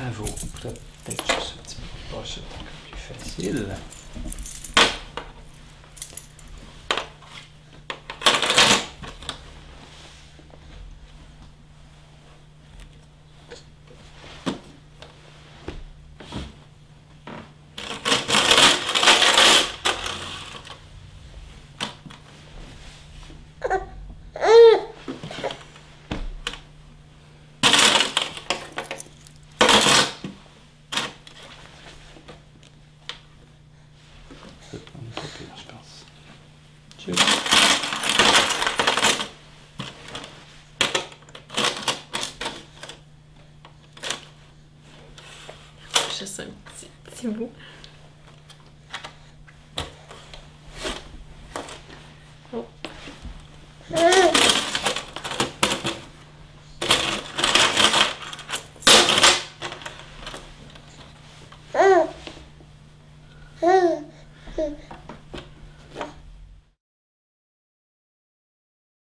Bravo. Peut-être juste un petit peu pas, ça va être plus facile. On est pas pire, je pense. Cheers. Juste un petit bout. Oh.